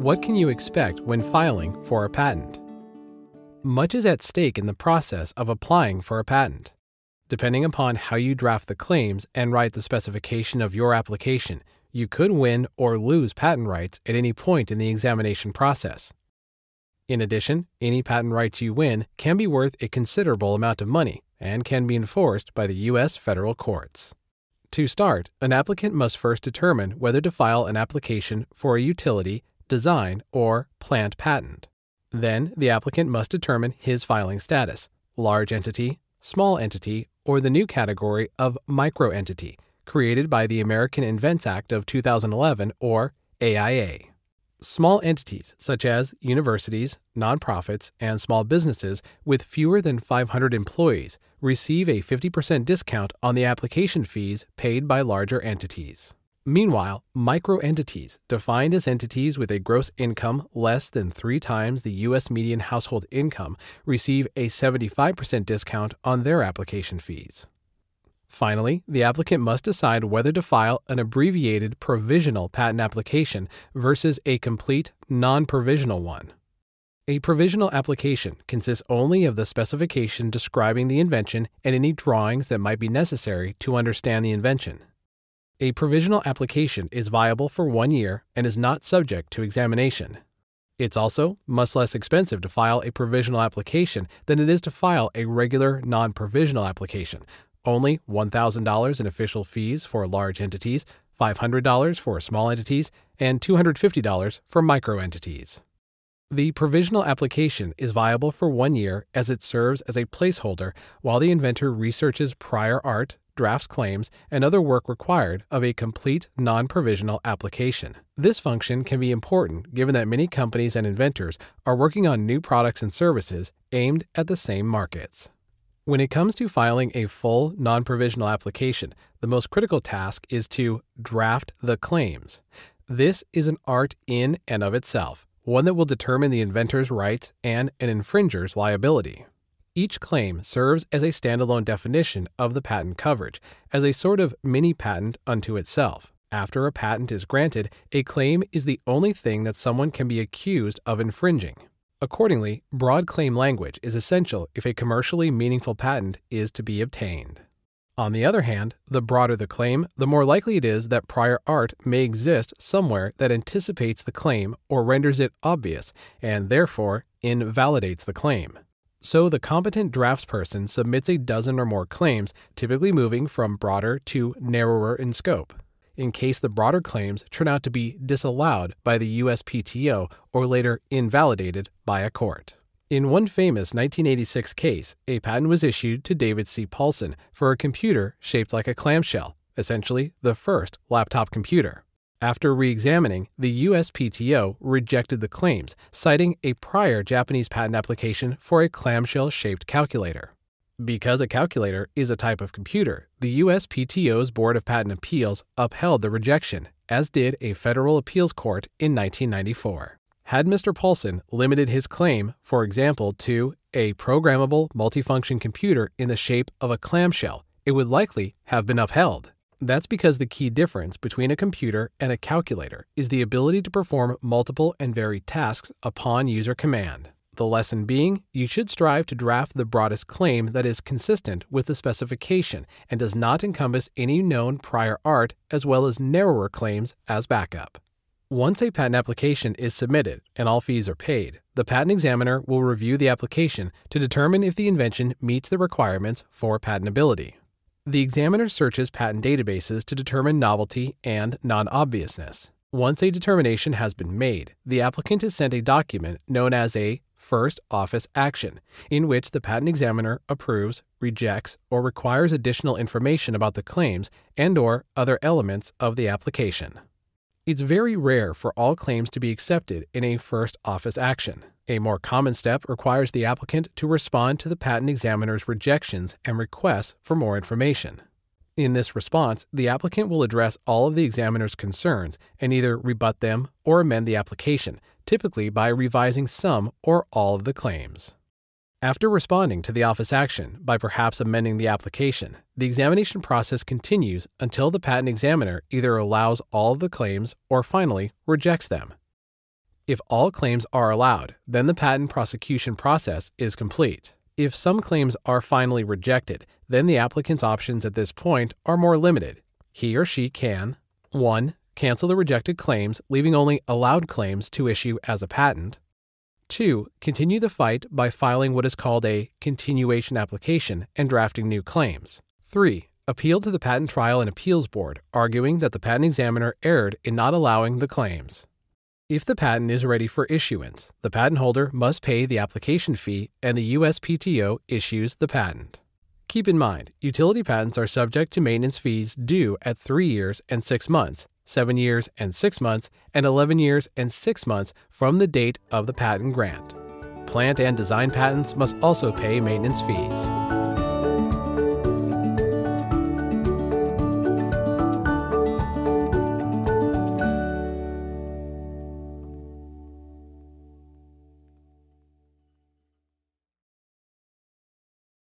What can you expect when filing for a patent? Much is at stake in the process of applying for a patent. Depending upon how you draft the claims and write the specification of your application, you could win or lose patent rights at any point in the examination process. In addition, any patent rights you win can be worth a considerable amount of money and can be enforced by the U.S. federal courts. To start, an applicant must first determine whether to file an application for a utility, design, or plant patent. Then, the applicant must determine his filing status: large entity, small entity, or the new category of microentity, created by the American Invents Act of 2011, or AIA. Small entities, such as universities, nonprofits, and small businesses with fewer than 500 employees, receive a 50% discount on the application fees paid by larger entities. Meanwhile, microentities, defined as entities with a gross income less than 3 times the U.S. median household income, receive a 75% discount on their application fees. Finally, the applicant must decide whether to file an abbreviated provisional patent application versus a complete non-provisional one. A provisional application consists only of the specification describing the invention and any drawings that might be necessary to understand the invention. A provisional application is viable for 1 year and is not subject to examination. It's also much less expensive to file a provisional application than it is to file a regular non-provisional application. Only $1,000 in official fees for large entities, $500 for small entities, and $250 for microentities. The provisional application is viable for 1 year as it serves as a placeholder while the inventor researches prior art, drafts claims, and other work required of a complete non-provisional application. This function can be important given that many companies and inventors are working on new products and services aimed at the same markets. When it comes to filing a full non-provisional application, the most critical task is to draft the claims. This is an art in and of itself, one that will determine the inventor's rights and an infringer's liability. Each claim serves as a standalone definition of the patent coverage, as a sort of mini-patent unto itself. After a patent is granted, a claim is the only thing that someone can be accused of infringing. Accordingly, broad claim language is essential if a commercially meaningful patent is to be obtained. On the other hand, the broader the claim, the more likely it is that prior art may exist somewhere that anticipates the claim or renders it obvious, and therefore invalidates the claim. So the competent draftsperson submits a dozen or more claims, typically moving from broader to narrower in scope, in case the broader claims turn out to be disallowed by the USPTO or later invalidated by a court. In one famous 1986 case, a patent was issued to David C. Paulson for a computer shaped like a clamshell, essentially the first laptop computer. After re-examining, the USPTO rejected the claims, citing a prior Japanese patent application for a clamshell-shaped calculator. Because a calculator is a type of computer, the USPTO's Board of Patent Appeals upheld the rejection, as did a federal appeals court in 1994. Had Mr. Paulson limited his claim, for example, to a programmable multifunction computer in the shape of a clamshell, it would likely have been upheld. That's because the key difference between a computer and a calculator is the ability to perform multiple and varied tasks upon user command. The lesson being, you should strive to draft the broadest claim that is consistent with the specification and does not encompass any known prior art as well as narrower claims as backup. Once a patent application is submitted and all fees are paid, the patent examiner will review the application to determine if the invention meets the requirements for patentability. The examiner searches patent databases to determine novelty and non-obviousness. Once a determination has been made, the applicant is sent a document known as a first office action, in which the patent examiner approves, rejects, or requires additional information about the claims and/or other elements of the application. It's very rare for all claims to be accepted in a first office action. A more common step requires the applicant to respond to the patent examiner's rejections and requests for more information. In this response, the applicant will address all of the examiner's concerns and either rebut them or amend the application, typically by revising some or all of the claims. After responding to the office action by perhaps amending the application, the examination process continues until the patent examiner either allows all of the claims or finally rejects them. If all claims are allowed, then the patent prosecution process is complete. If some claims are finally rejected, then the applicant's options at this point are more limited. He or she can 1. Cancel the rejected claims, leaving only allowed claims to issue as a patent. 2. Continue the fight by filing what is called a continuation application and drafting new claims. 3. Appeal to the Patent Trial and Appeals Board, arguing that the patent examiner erred in not allowing the claims. If the patent is ready for issuance, the patent holder must pay the application fee and the USPTO issues the patent. Keep in mind, utility patents are subject to maintenance fees due at 3 years and 6 months, 7 years and 6 months, and 11 years and 6 months from the date of the patent grant. Plant and design patents must also pay maintenance fees.